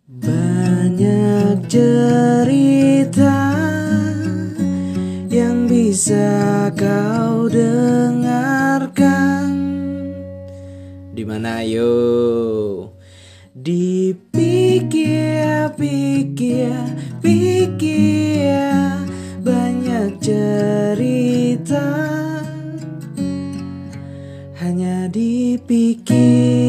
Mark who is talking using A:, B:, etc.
A: Banyak cerita yang bisa kau dengarkan. Dimana yo? Dipikir-pikir banyak cerita hanya dipikir.